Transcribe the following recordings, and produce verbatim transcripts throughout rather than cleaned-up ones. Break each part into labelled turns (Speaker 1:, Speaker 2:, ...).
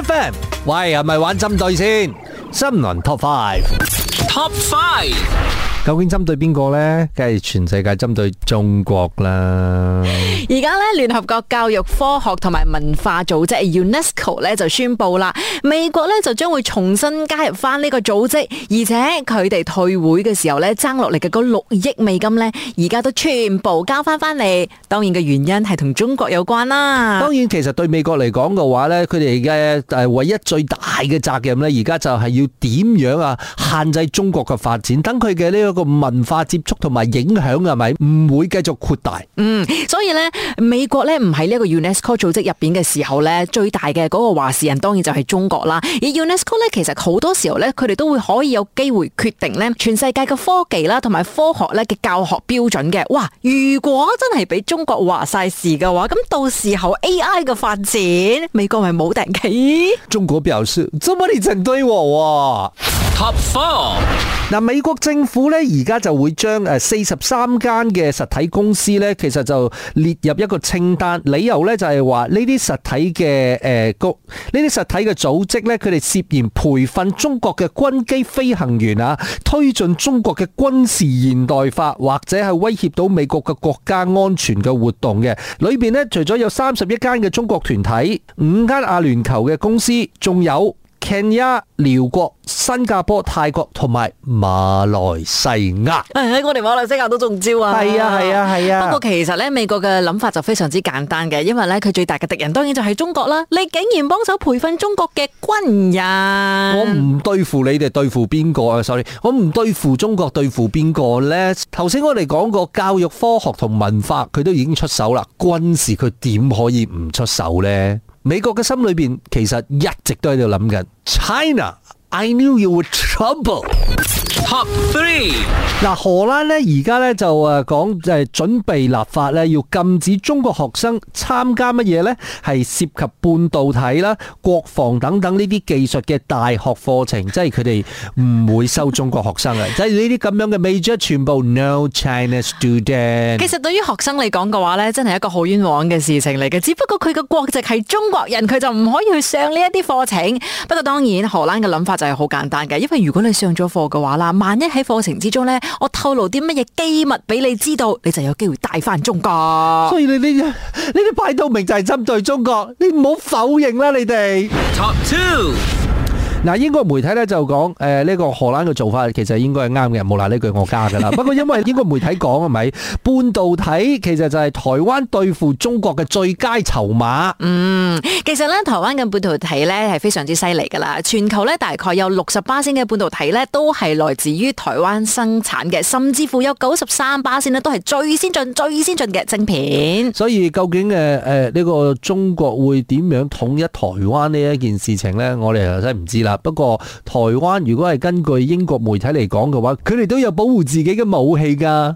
Speaker 1: F M， 喂，係咪玩針對先？新聞 Top Five，Top
Speaker 2: Five，
Speaker 1: 究竟針對邊個呢？梗係全世界針對中國啦。
Speaker 3: 而家咧，聯合國教育、科學同埋文化組織 UNESCO 咧就宣布啦，美國咧就將會重新加入翻呢個組織，而且佢哋退會嘅時候咧爭落嚟嘅嗰六億美金咧，而家都全部交翻翻嚟。當然嘅原因係同中國有關啦。
Speaker 1: 當然，其實對美國嚟講嘅話咧，佢哋嘅誒唯一最大嘅責任咧，而家就係要點樣啊限制中國嘅發展，等佢嘅呢一個文化接觸同埋影響係咪唔會繼續擴大？
Speaker 3: 嗯，所以咧，美國咧唔喺呢一個 UNESCO 組織入邊嘅時候咧，最大嘅嗰個話事人當然就係中國啦。而 UNESCO 咧，其實好多時候咧，佢哋都會可以有機會決定咧全世界嘅科技啦，同埋科學咧嘅教學標準嘅。哇！如果真係俾中國話晒事嘅話，咁到時候 A I 嘅發展，美國咪冇定企？
Speaker 1: 中國表示：怎麼你針對我
Speaker 2: ？Top Four，
Speaker 1: 嗱，美國政府咧而家就會將誒四十三間嘅實體公司咧，其實就列入一個清單，理由咧就係話呢啲實體嘅誒局，呢啲實體嘅組織咧，佢哋涉嫌培訓中國嘅軍機飛行員啊，推進中國嘅軍事現代化，或者係威脅到美國嘅國家安全嘅活動嘅。裏邊咧，除咗有三十一間嘅中國團體，五間阿聯酋嘅公司，仲有Kenya、寮國、新加坡、泰國同埋馬來西亞。
Speaker 3: 喺我哋馬來西亞都中招啊！
Speaker 1: 係啊係啊係啊！
Speaker 3: 不過其實咧，美國嘅諗法就非常之簡單嘅，因為咧佢最大嘅敵人當然就係中國啦。你竟然幫手培訓中國嘅軍人，
Speaker 1: 我唔對付你哋，對付邊個啊 ？sorry， 我唔對付中國，對付邊個咧？頭先我哋講過教育、科學同文化，佢都已經出手啦。軍事佢點可以唔出手咧？美國嘅心裏邊其實一直都喺度諗緊 China。I knew you were trouble。
Speaker 2: Top Three，
Speaker 1: 嗱，荷蘭咧而家咧就誒講誒準備立法咧，要禁止中國學生參加乜嘢咧？係涉及半導體啦、國防等等呢啲技術嘅大學課程，即係佢哋唔會收中國學生嘅，即係呢啲咁樣嘅 major 全部 no China student。
Speaker 3: 其實對於學生嚟講嘅話咧，真係一個好冤枉嘅事情嚟嘅。只不過佢嘅國籍係中國人，佢就唔可以去上呢一啲課程。不過當然荷蘭嘅諗法就係好簡單嘅，因為如果你上咗課嘅話啦，萬一喺課程之中咧，我透露啲乜嘢機密俾你知道，你就有機會帶翻中國。
Speaker 1: 所以你呢啲呢啲擺到明就係針對中國，你唔好否認啦，你哋。
Speaker 2: Top Two。
Speaker 1: 嗱，英國媒體咧就講，誒呢個荷蘭嘅做法其實應該係啱嘅，冇嗱呢句我加噶啦。不過因為英國媒體講係咪，半導體其實就係台灣對付中國嘅最佳籌碼。
Speaker 3: 嗯，其實咧台灣嘅半導體咧係非常之犀利噶啦，全球咧大概有六十巴仙嘅半導體咧都係來自於台灣生產嘅，甚至乎有九十三巴仙咧都係最先進、最先進嘅晶片。
Speaker 1: 所以究竟誒誒呢個中國會點樣統一台灣呢一件事情咧，我哋就真係唔知啦。不過台灣如果係根據英國媒體嚟講嘅話，佢哋都有保護自己嘅武器噶。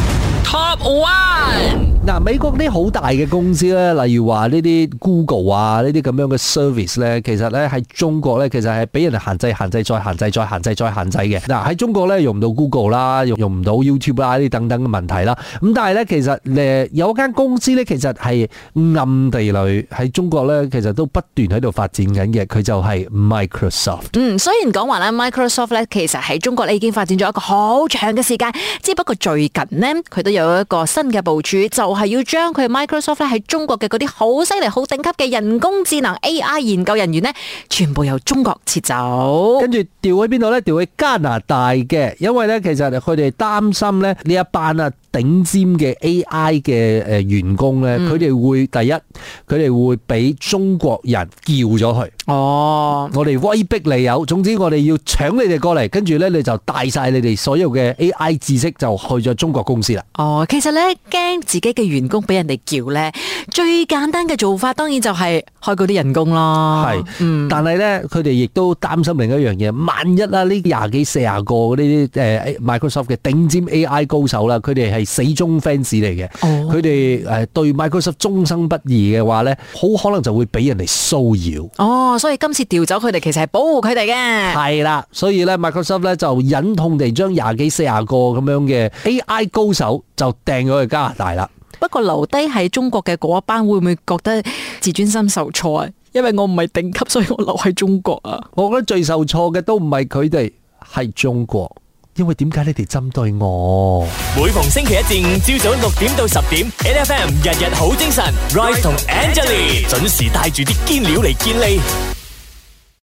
Speaker 2: Top One。
Speaker 1: 嗱，美國啲好大嘅公司咧，例如話呢啲 Google 啊，呢啲咁樣嘅 service 咧，其實咧喺中國咧，其實係俾人哋限制、限制、再限制、再限制、再限制嘅。嗱，喺中國咧用唔到 Google 啦，用用唔到 YouTube 啦，呢啲等等嘅問題啦。咁但係咧，其實誒有一間公司咧，其實係暗地裏喺中國咧，其實都不斷喺度發展緊嘅。佢就係 Microsoft。
Speaker 3: 嗯，雖然講話咧 Microsoft 咧，其實喺中國咧已經發展咗一個好長嘅時間，只不過最近呢，佢都有一個新嘅部署，就係要將佢 Microsoft 咧喺中國嘅嗰啲好犀利、好頂級嘅人工智能 A I 研究人員呢，全部由中國撤走，
Speaker 1: 跟住調去邊度呢？調去加拿大嘅，因為呢，其實佢哋擔心咧呢一班啊頂尖嘅 A I 嘅誒員工呢，佢哋、嗯、會第一，佢哋會俾中國人叫咗去。哦，我哋威逼利誘，總之我哋要搶你哋過嚟，跟住呢，你就帶晒你哋所有嘅 A I 知識就去咗中國公司啦。
Speaker 3: 哦，其實呢，驚自己嘅員工俾人哋叫呢，最簡單嘅做法當然就係開嗰啲人工咯。係，嗯，但係呢，佢哋亦都擔心另一樣嘢，萬一啊呢廿幾四十個嗰啲誒 Microsoft 嘅頂尖 A I 高手啦，佢哋係死忠 fans 嚟嘅，佢哋誒對 Microsoft 終生不義嘅話呢，好可能就會俾人哋騷擾。哦，所以今次調走佢哋其實係保護佢哋嘅。
Speaker 1: 係啦，所以咧 Microsoft 咧就忍痛地將廿幾四十個咁樣嘅 A I 高手就掟咗去加拿大啦。
Speaker 3: 不過留低喺中國嘅嗰一班會唔會覺得自尊心受挫啊？ 因為我唔係頂級，所以我留喺中國啊。
Speaker 1: 我覺得最受挫嘅都唔係佢哋，係中國。因為點解你哋針對我？
Speaker 4: 每逢星期一至五朝早六點到十點 ，N F M 日日好精神 ，Rise 同 Angelie 準時帶住啲堅料嚟健利。